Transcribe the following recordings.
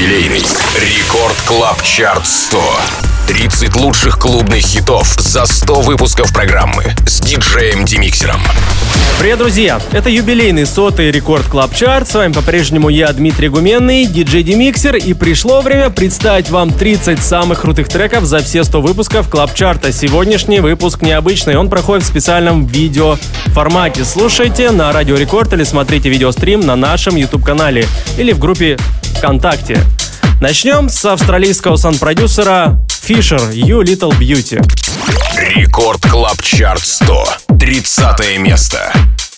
юбилейный Рекорд Клаб Чарт 100. 30 лучших клубных хитов за 100 выпусков программы с диджеем Демиксером. Привет, друзья! Это юбилейный 100-й Рекорд Клаб Чарт. С вами по-прежнему я, Дмитрий Гуменный, диджей Демиксер. И пришло время представить вам 30 самых крутых треков за все 100 выпусков Клаб Чарта. Сегодняшний выпуск необычный. Он проходит в специальном видеоформате. Слушайте на Радио Рекорд или смотрите видеострим на нашем YouTube-канале или в группе ВКонтакте. Начнем с австралийского сан-продюсера Fisher, You Little Beauty. Рекорд Клаб Чарт 100. 30 место.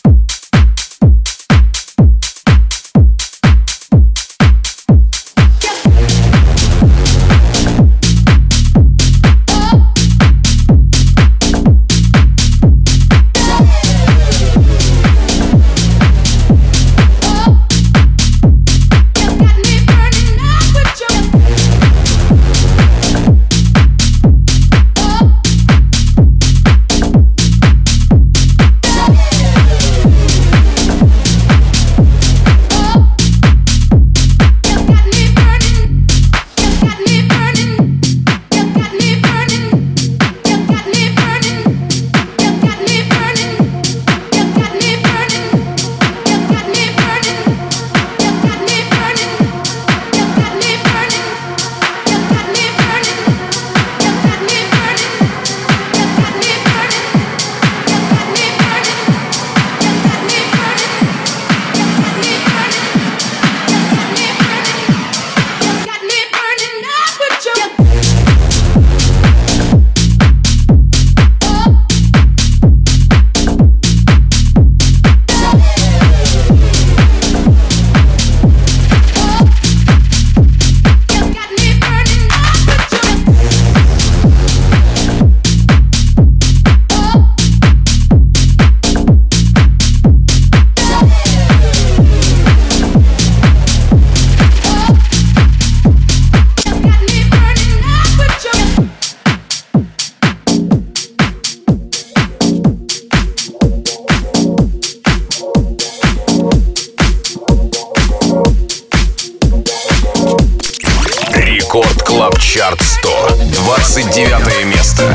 Рекорд Клаб Чарт 100. 29 место.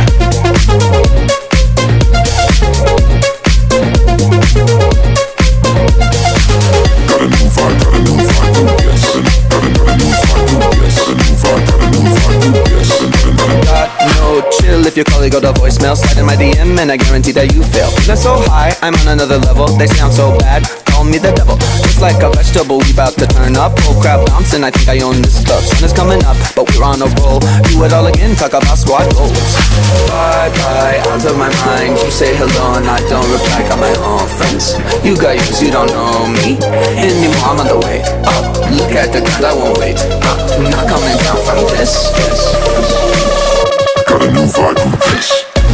If you call it, go to voicemail, slide in my DM, and I guarantee that you fail. Feeling so high, I'm on another level. They sound so bad, call me the devil. Just like a vegetable, we bout to turn up. Oh crap, bouncing, I think I own this club. Sun is coming up, but we're on a roll. Do it all again, talk about squad goals. Bye bye, out of my mind. You say hello and I don't reply. Got my own friends. You got yours, you don't know me anymore. I'm on the way up. Look at the ground, I won't wait up. I'm not coming down from this. Got a new vibe with this.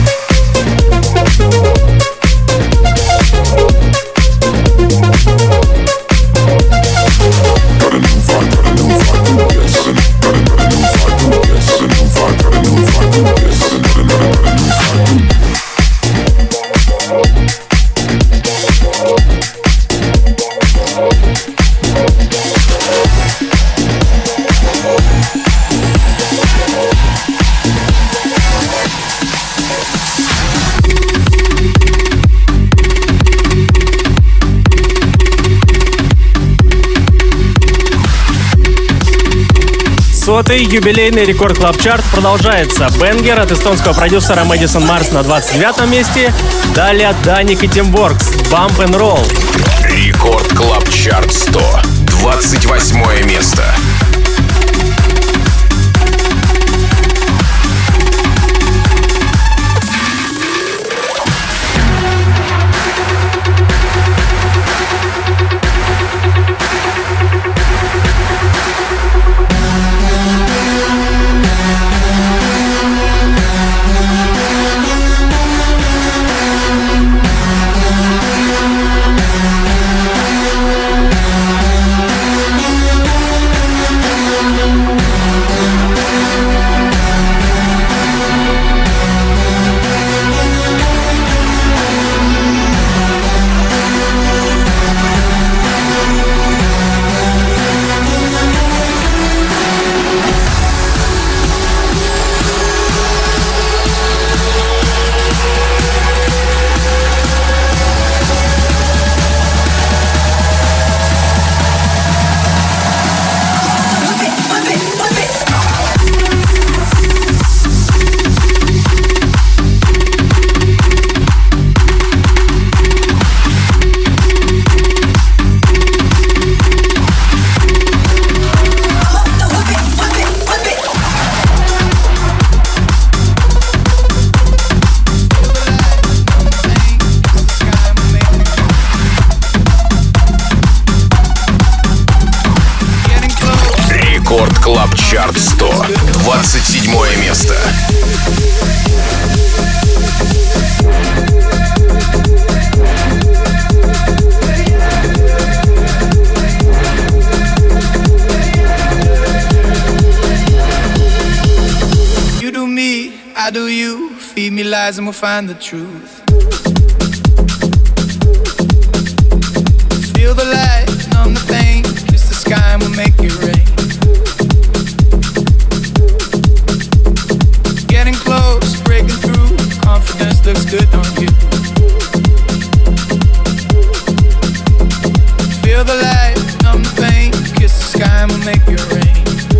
Сотый юбилейный Рекорд Клаб Чарт продолжается. Бенгер от эстонского продюсера Мэдисон Марс на 29 месте. Далее Даник и Тим Воркс. Bump and Roll. Рекорд Клаб Чарт 100. 28 место. Рекорд Клаб Чарт 100. 27 место. You do me, I do you. Feed me lies and we'll find the truth. Feel the light, numb the pain. Kiss the sky and we'll make it rain. Getting close, breaking through. Confidence looks good on you. Feel the light, numb the pain. Kiss the sky and we'll make it rain.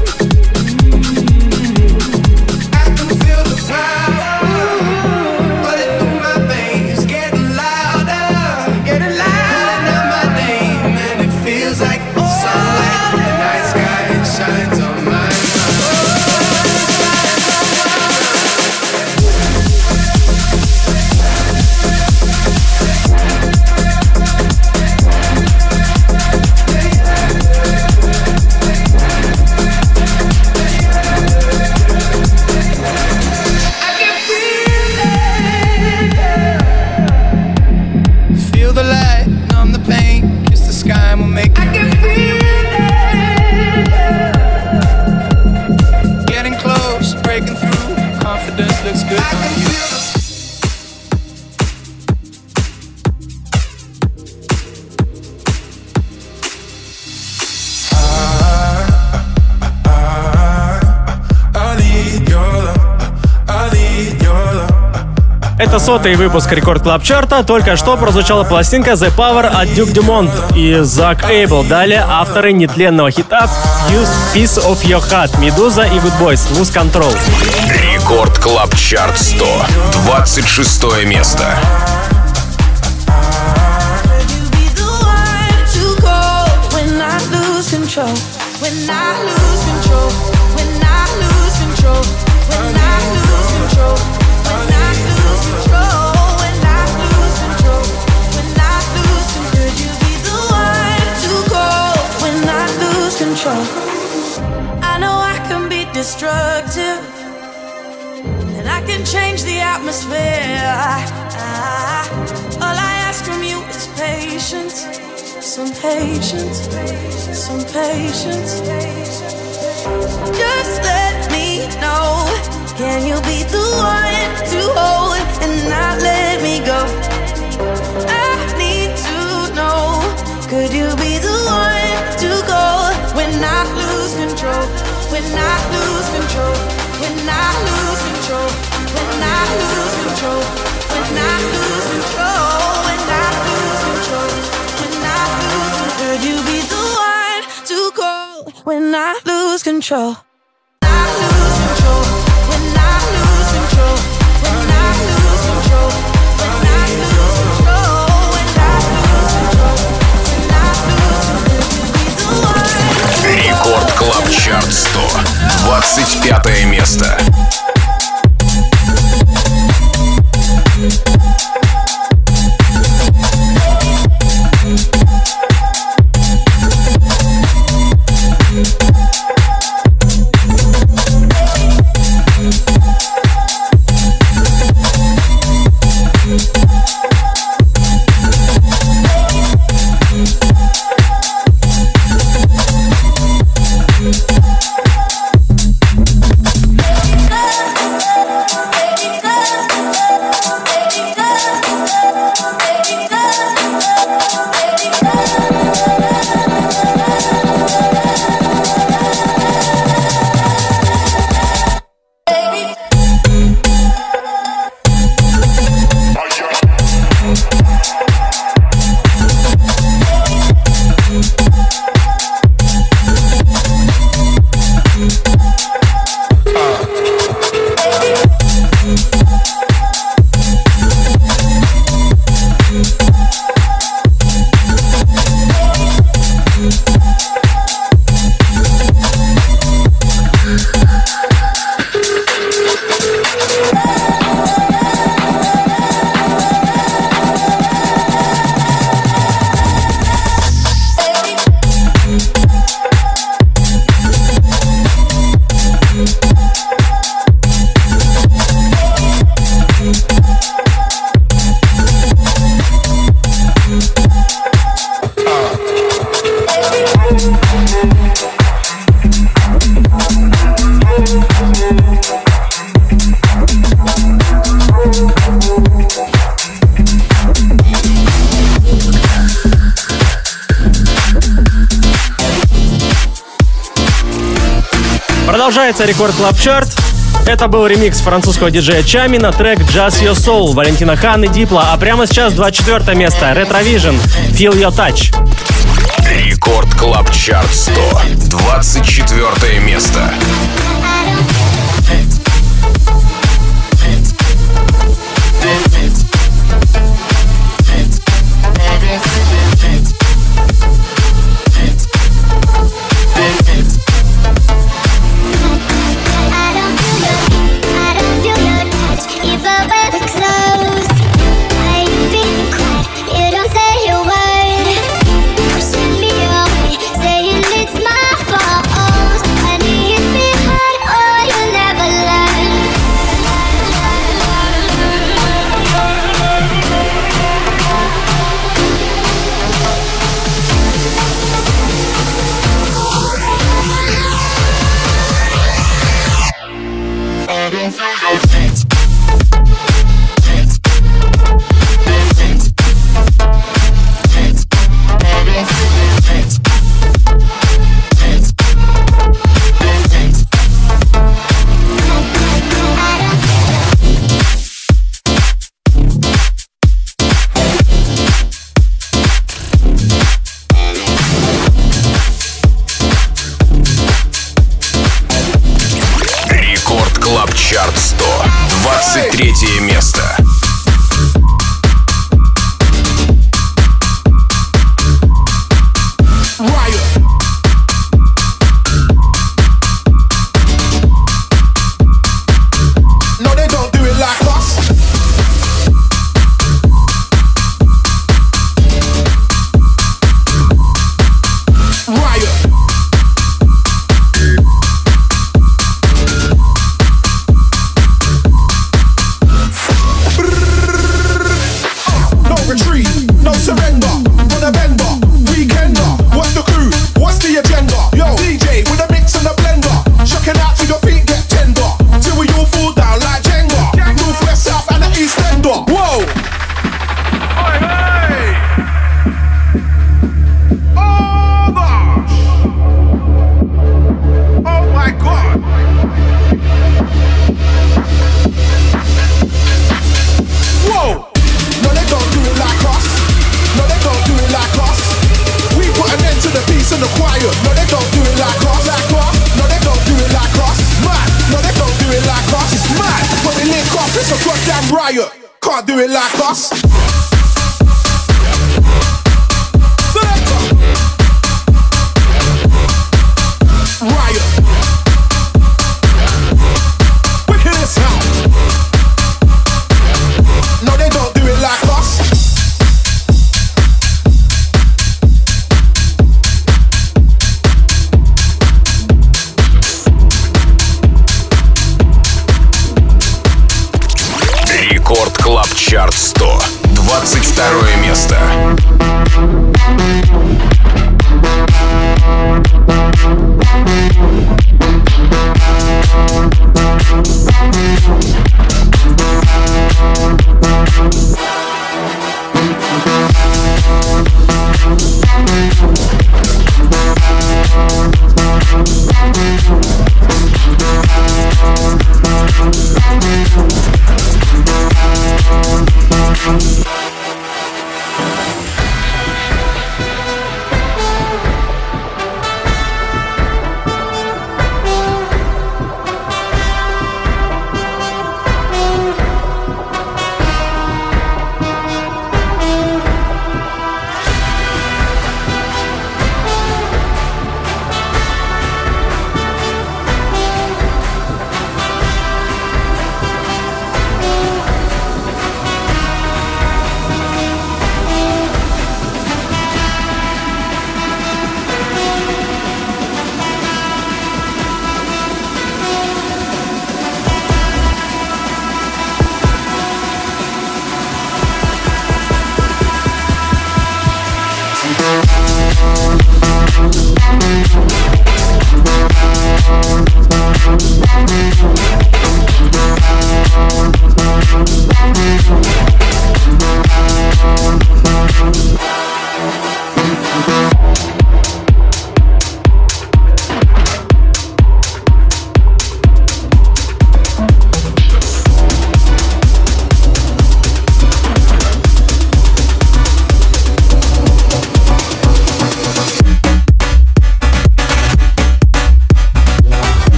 Это 100-й выпуск Рекорд Клаб Чарта. Только что прозвучала пластинка The Power от Duke Dumont и Зак Эйбл. Далее авторы нетленного хита Piece of Your Heart, Медуза и Good Boys, Lose Control. Рекорд Клаб Чарт 100. 26 место. I know I can be destructive, and I can change the atmosphere. All I ask from you is patience, some patience, some patience. Just let me know, can you be the one to hold and not let me go? I need to know, could you be the one to go when I lose control? When I lose control? When I lose control? When I lose control? When I lose control? When I lose control? When I lose control? Could you be the one to go when I lose control? I lose control. When I lose control. When I lose control. When I lose control. When I lose control. When I lose control. Рекорд Клаб Чарт 100. 25 место. Love Продолжается Рекорд Клаб Чарт. Это был ремикс французского диджея Чами на трек Just Your Soul Валентина Хан и Дипла. А прямо сейчас 24 место Retrovision Feel Your Touch. Рекорд Клаб Чарт 100. 24 место. Чарт 100. 23 место.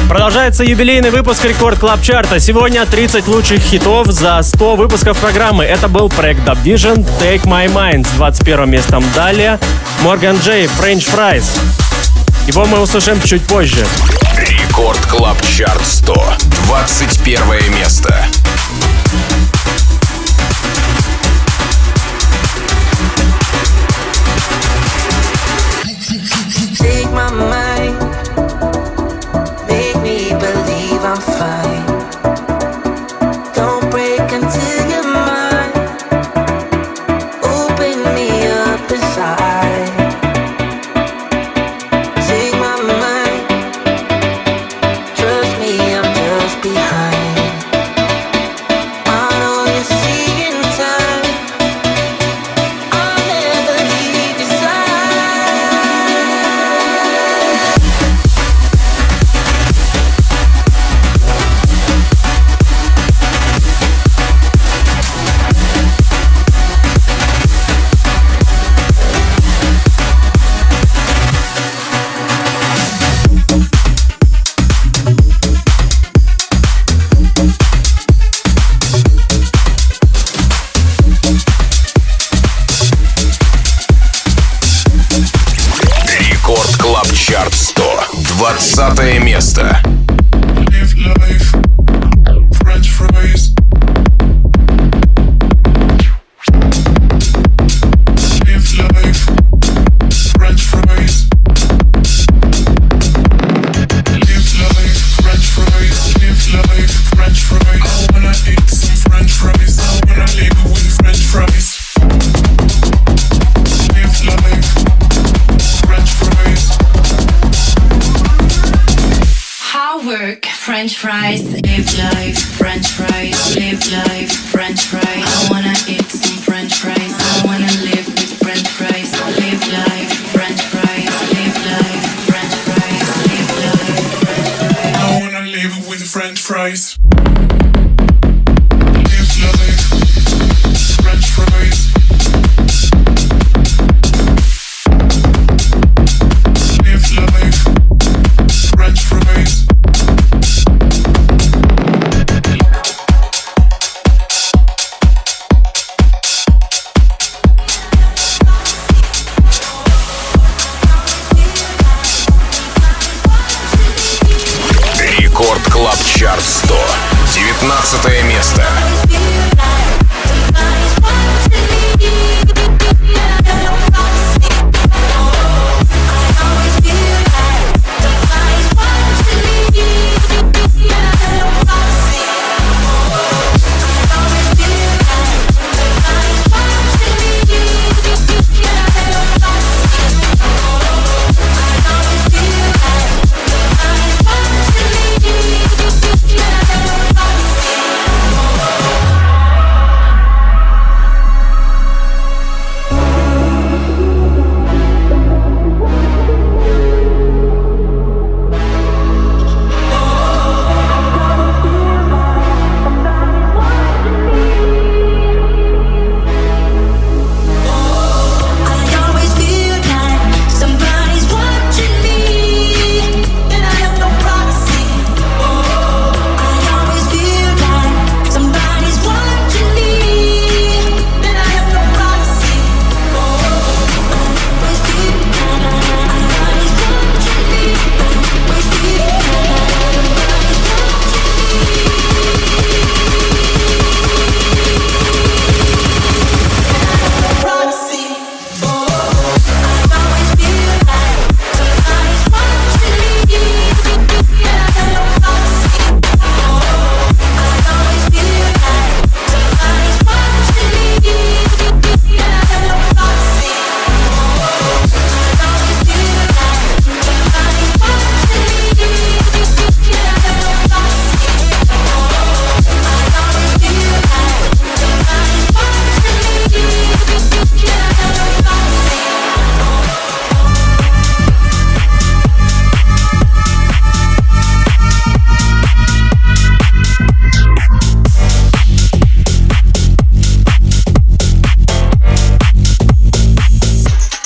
Продолжается юбилейный выпуск Рекорд Клаб Чарта. Сегодня 30 лучших хитов за 100 выпусков программы. Это был проект Dub Vision Take My Mind с 21 местом. Далее Morgan J, French Fries. Его мы услышим чуть позже. Рекорд Клаб Чарт 100. 21 место. Take my mind, make me believe I'm fine. Don't break until you're mine. Open me up inside. Take my mind, trust me, I'm just behind. I know you're seeing time. I'll never leave your side. Рекорд Клаб Чарт 100. 20 место. Live life, French fries. Live life, French fries. Live life, French fries. Live life, French fries. I wanna eat some French fries. I wanna live with French fries. Live life, French fries. How work French fries, live life, French fries, live life, French fries. I wanna eat some French fries. I wanna live with French fries, live life, French fries, live life, French fries, live life, French fries. I wanna live with French fries. Live life, French fries. Live life, French fries. Рекорд Клаб Чарт 100. 19 место.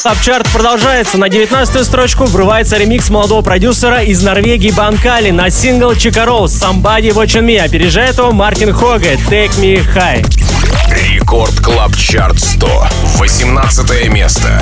Клабчарт продолжается. На 19-ю строчку врывается ремикс молодого продюсера из Норвегии Банкали на сингл Чика Роуз «Somebody Watching Me». Опережает его Мартин Хоге «Take Me High». Рекорд Клаб Чарт 100. 18 место.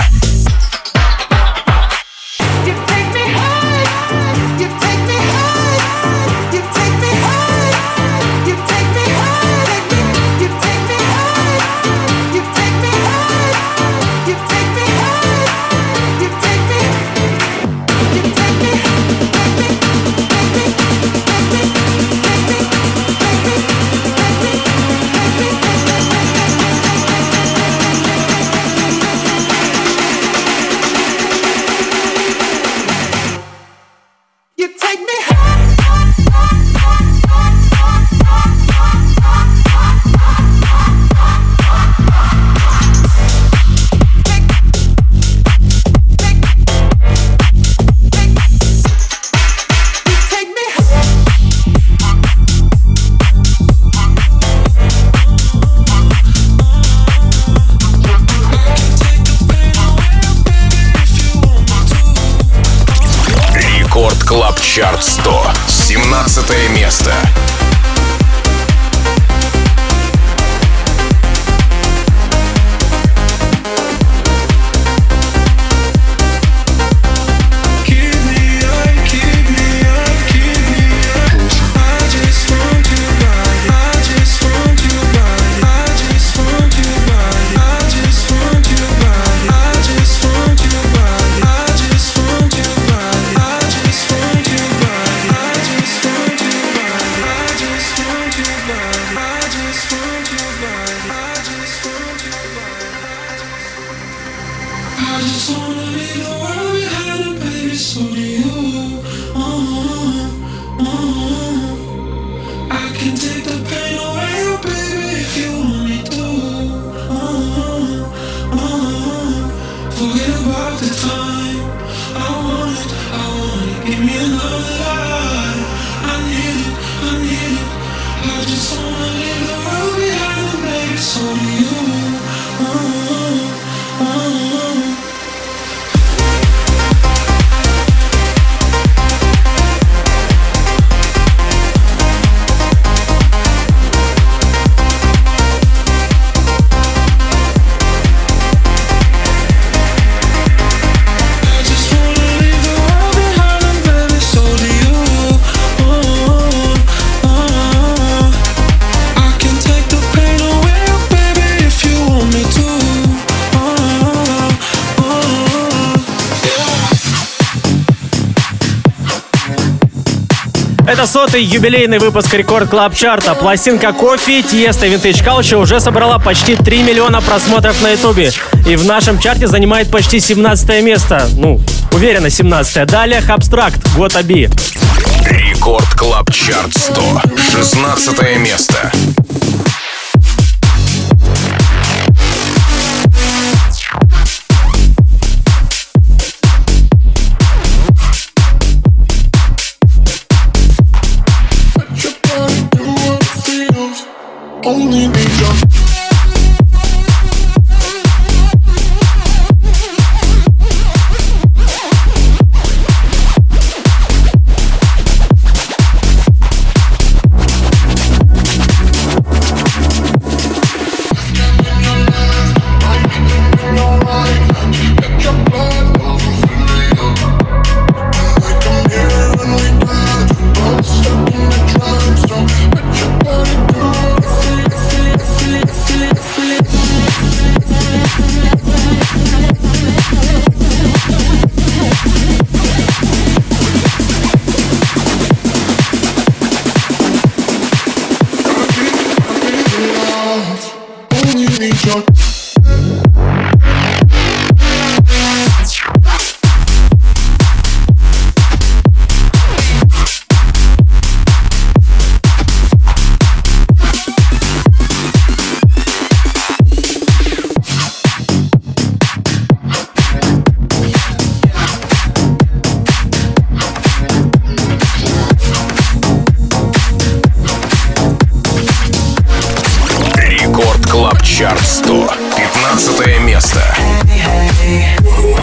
Клаб Чарт 100. 17 место. Это 100-й юбилейный выпуск Рекорд Клаб Чарта. Пластинка Кофи, Тиеста Vintage Culture уже собрала почти 3 миллиона просмотров на ютубе. И в нашем чарте занимает почти 17 место. Ну, уверенно 17. Далее Хабстракт, Gotta Be. Рекорд Клаб Чарт 100. 16 место. Only need your Чарт 100. 15 место. Hey, hey.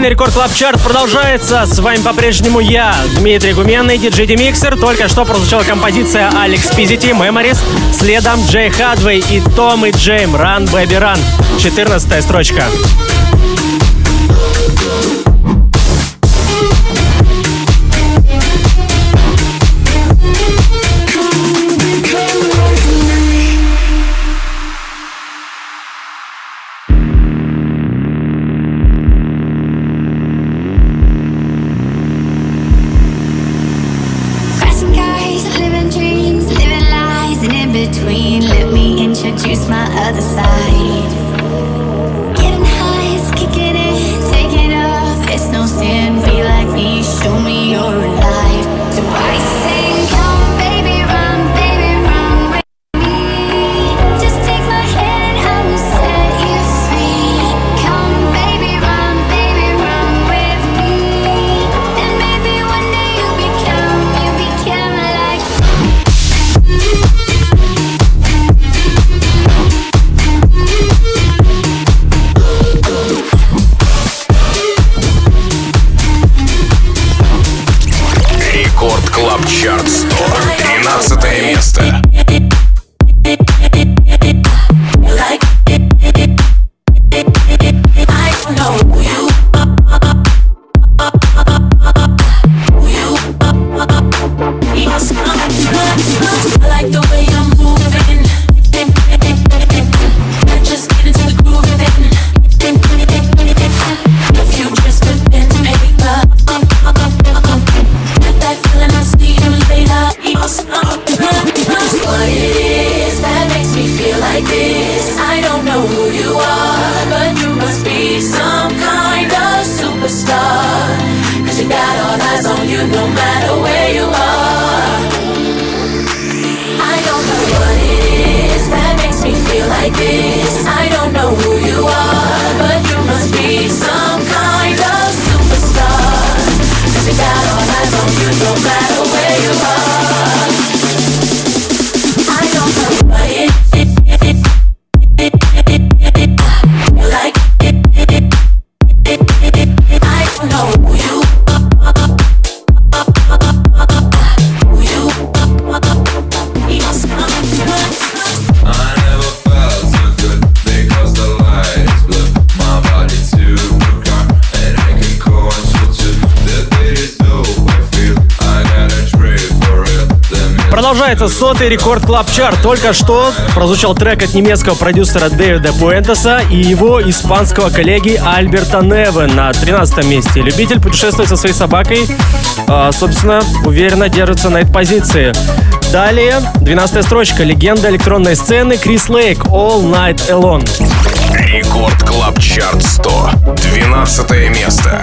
юбилейный Рекорд Клаб Чарт продолжается. С вами по-прежнему я, Дмитрий Гуменный, диджей Демиксер. Только что прозвучала композиция Алекс Пизити Memories. Следом Джей Хадвей и Том и Джейм Run Baby Run. 14-я строчка. Introduce my other side. Getting high is kicking in, take it off. It's no sin, be like me, show me you're alive. So I sing, come baby run with me. Just take my hand, I will set you free. Come baby run with me. And maybe one day you'll become like Рекорд Клаб Чарт 100. 13 место. Продолжается 100-й Рекорд Клаб Чарт. Только что прозвучал трек от немецкого продюсера Дэвида Пуэнтеса и его испанского коллеги Альберта Неве на 13-м месте. Любитель путешествовать со своей собакой, собственно, уверенно держится на этой позиции. Далее 12-я строчка. Легенда электронной сцены Крис Лейк All Night Alone. Рекорд Клаб Чарт 100. 12 место.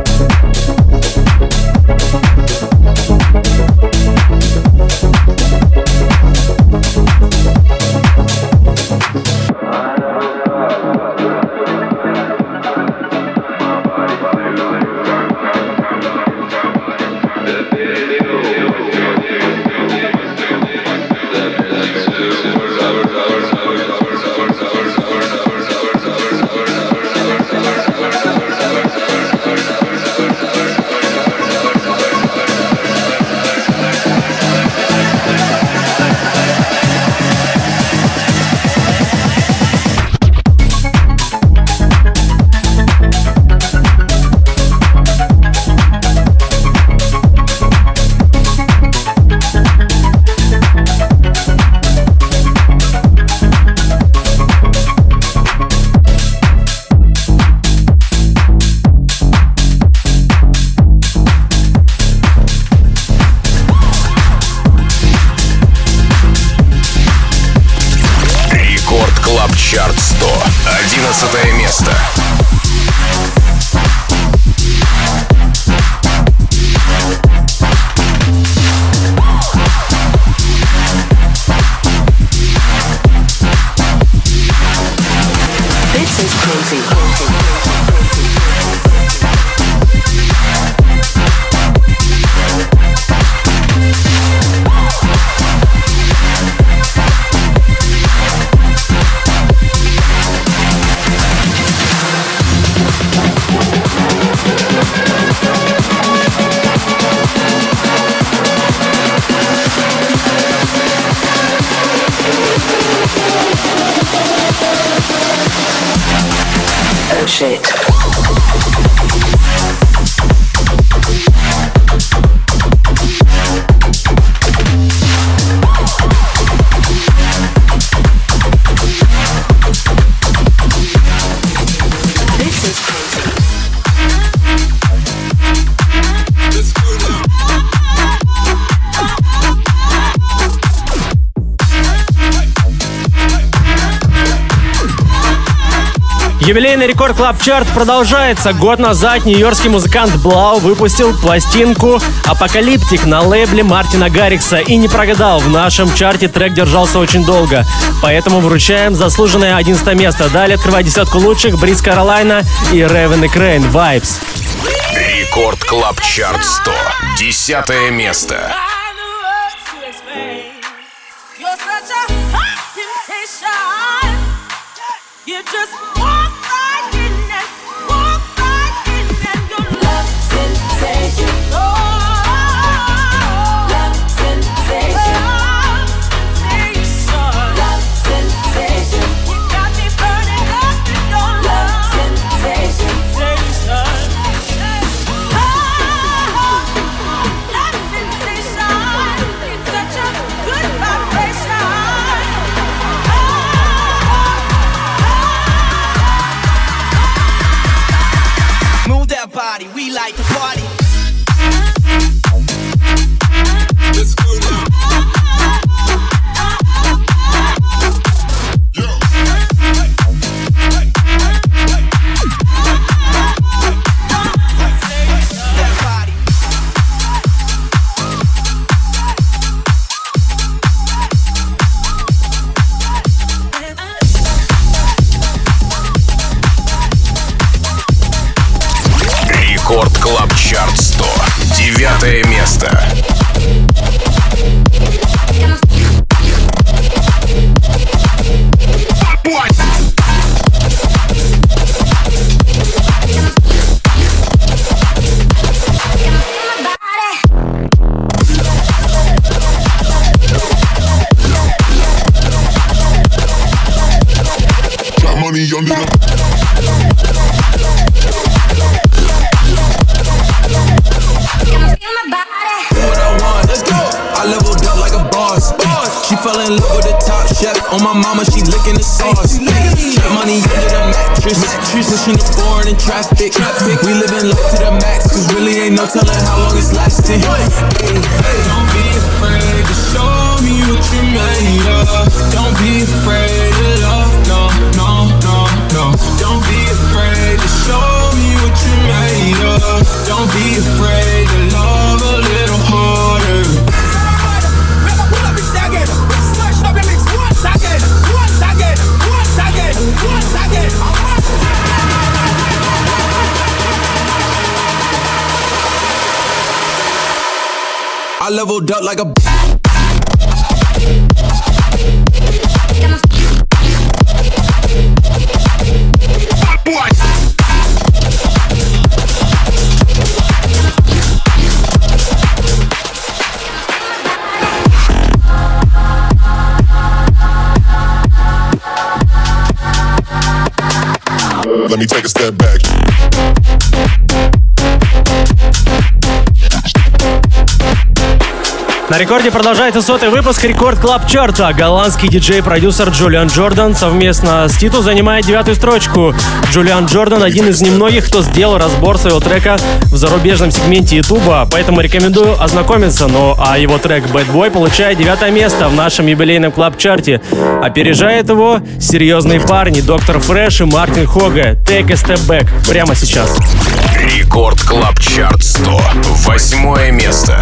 Чарт 100. 11 место. This is crazy. shit. Юбилейный Рекорд Клаб Чарт продолжается. Год назад нью-йоркский музыкант Блау выпустил пластинку «Апокалиптик» на лейбле Мартина Гаррикса и не прогадал. В нашем чарте трек держался очень долго, поэтому вручаем заслуженное 11 место. Далее открывает десятку лучших Бриз Каролайна и Ревен и Крейн «Vibes». Рекорд Клаб Чарт 100. 10 место. You just walk right in and walk right in and your love sensation. Love sensation. Love sensation. You got me burning up in your love sensation. Love sensation. It's such a good vibration. Body, we like to party. Let's go now. Рекорд Клаб Чарт 100. 9 место. Money under the She fell in love with the top chef. On my mama, she licking the sauce. Trap money under the mattress. Pushing the foreign in traffic. We living life to the max, cause really ain't no telling how long it's lasting. Don't be afraid to show me what you made of. Don't be afraid to love, no, no, no, no. Don't be afraid to show me what you made of. Don't be afraid to love a little harder. I leveled up like a Let me take a step back. На рекорде продолжается 100-й выпуск Рекорд Клаб Чарта. Голландский диджей-продюсер Джулиан Джордан совместно с Титу занимает 9-ю строчку. Джулиан Джордан один из немногих, кто сделал разбор своего трека в зарубежном сегменте Ютуба, поэтому рекомендую ознакомиться. А его трек Bad Boy получает 9 место в нашем юбилейном клаб-чарте. Опережает его серьезные парни Доктор Фреш и Мартин Хога. Take a step back прямо сейчас. Рекорд Клаб Чарт 100. 8 место.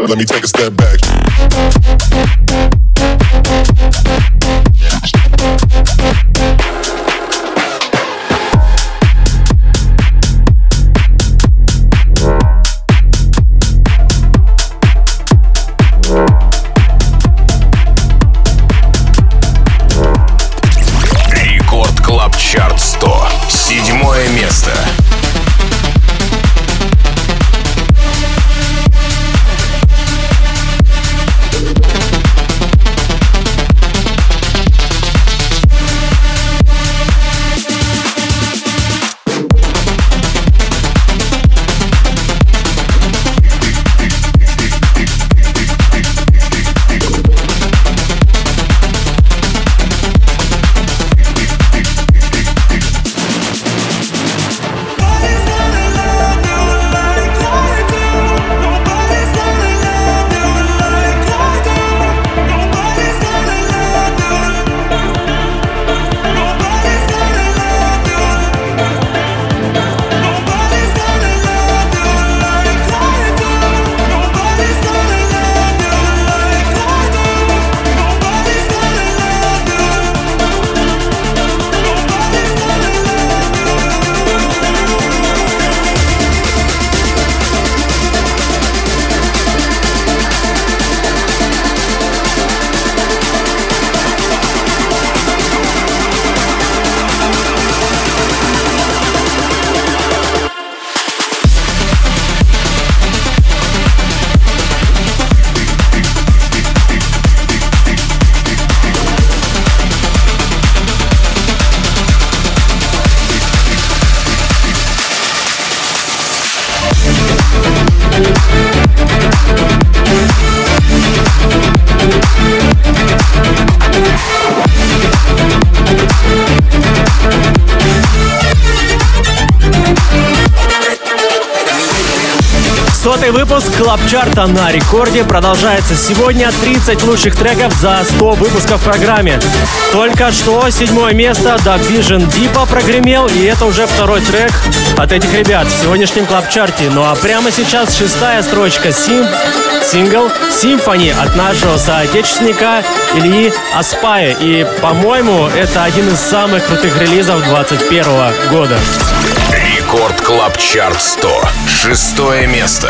let me take a step back. Рекорд Клаб Чарт 100. 7 место. Сотый выпуск Клабчарта на рекорде продолжается сегодня. 30 лучших треков за 100 выпусков в программе. Только что 7 место Dub Vision Deepa прогремел, и это уже второй трек от этих ребят в сегодняшнем Клабчарте. Ну а прямо сейчас 6-я строчка сингл Symphony от нашего соотечественника Ильи Аспая. И, по-моему, это один из самых крутых релизов 2021 года. Рекорд Клаб Чарт 100. 6 место.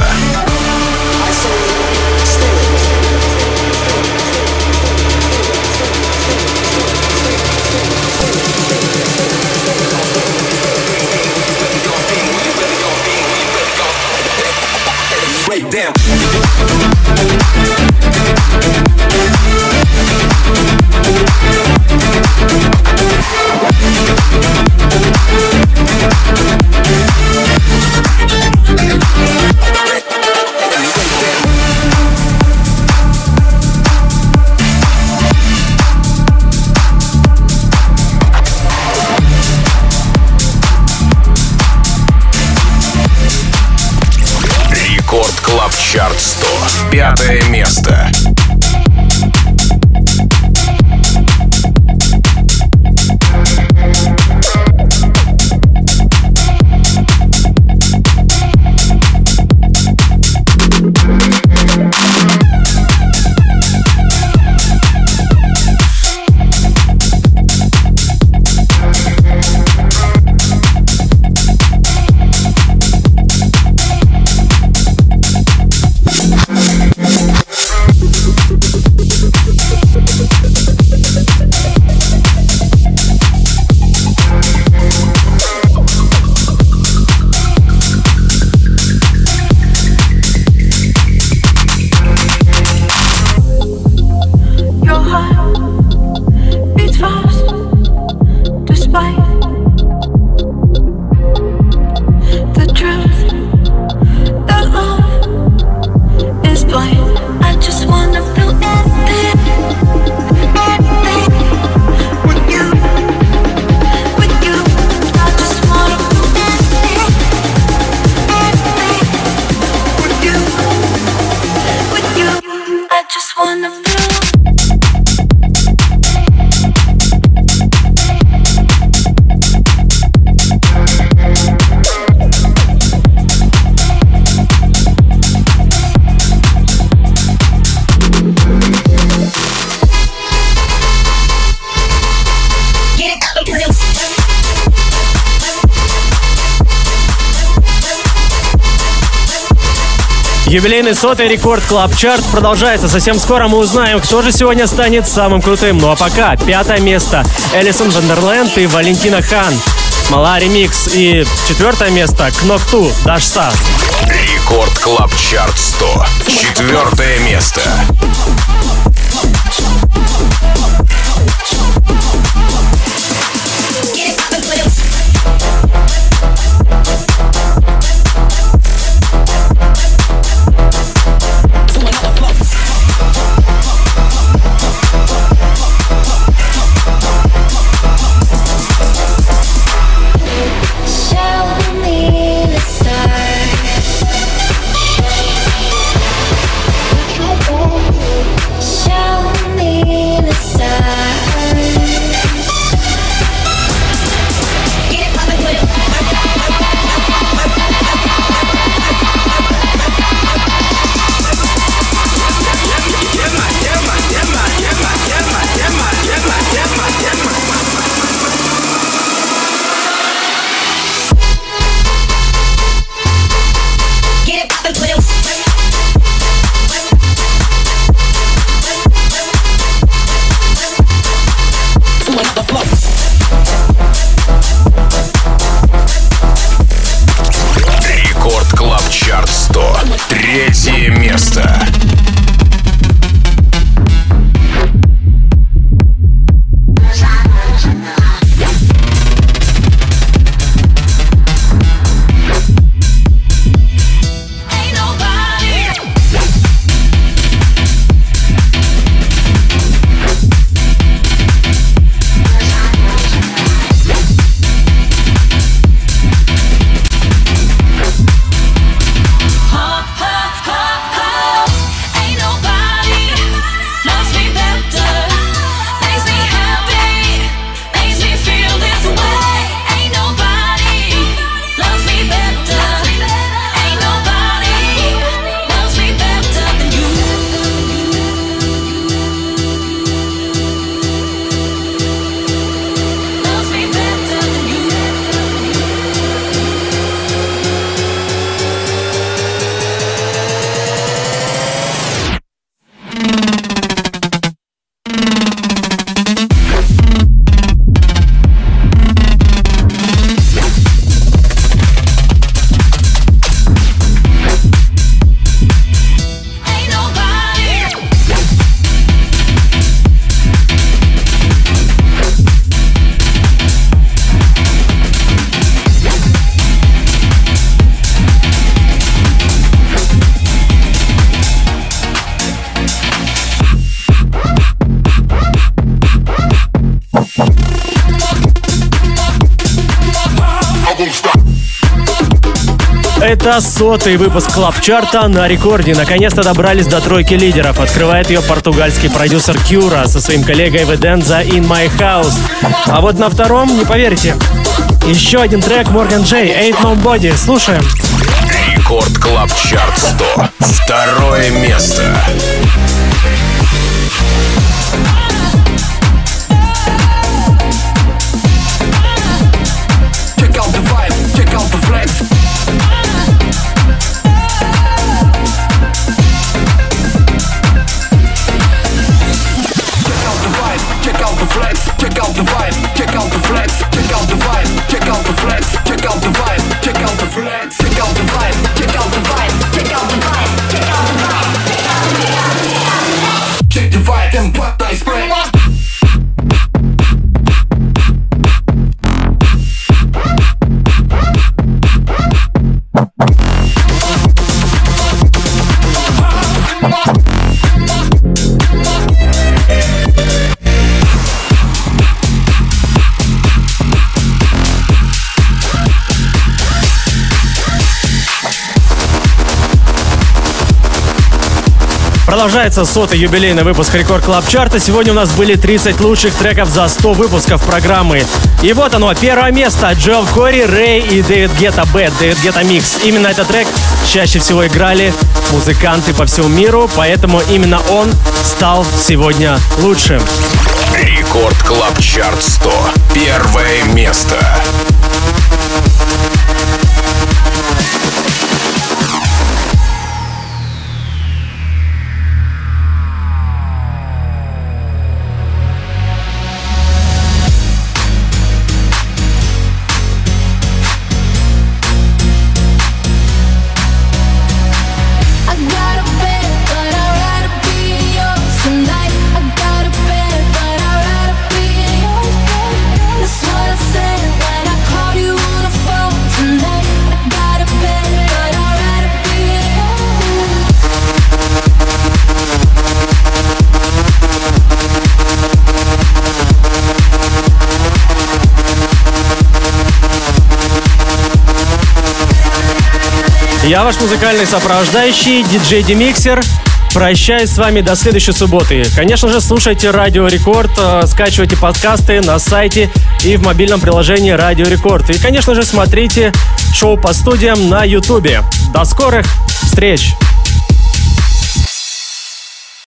Рекорд Клаб Чарт 100. 5 место. Юбилейный 100-й Рекорд Клаб Чарт продолжается. Совсем скоро мы узнаем, кто же сегодня станет самым крутым. Ну а пока 5-е место Элисон Вандерленд и Валентина Хан. Мала ремикс. И 4-е место Кнокту Дашса. Рекорд Клаб Чарт 100. 4-е место. Третье место. Это 100-й выпуск Клаб-чарта на рекорде. Наконец-то добрались до тройки лидеров. Открывает ее португальский продюсер Кюра со своим коллегой Веденза In My House. А вот на втором, не поверите, еще один трек Morgan J, Ain't Nobody. Слушаем. Рекорд Клаб-чарт 100. Второе место. Продолжается 100-й юбилейный выпуск Рекорд Клаб Чарта. Сегодня у нас были 30 лучших треков за 100 выпусков программы. И вот оно, первое место. Джоэл Кори, Рэй и Дэвид Гетта Бэд, Дэвид Гетта Микс. Именно этот трек чаще всего играли музыканты по всему миру, поэтому именно он стал сегодня лучшим. Рекорд Клаб Чарт 100. Первое место. Я ваш музыкальный сопровождающий, диджей Демиксер. Прощаюсь с вами до следующей субботы. Конечно же, слушайте Радио Рекорд, скачивайте подкасты на сайте и в мобильном приложении Радио Рекорд. И, конечно же, смотрите шоу по студиям на Ютубе. До скорых встреч!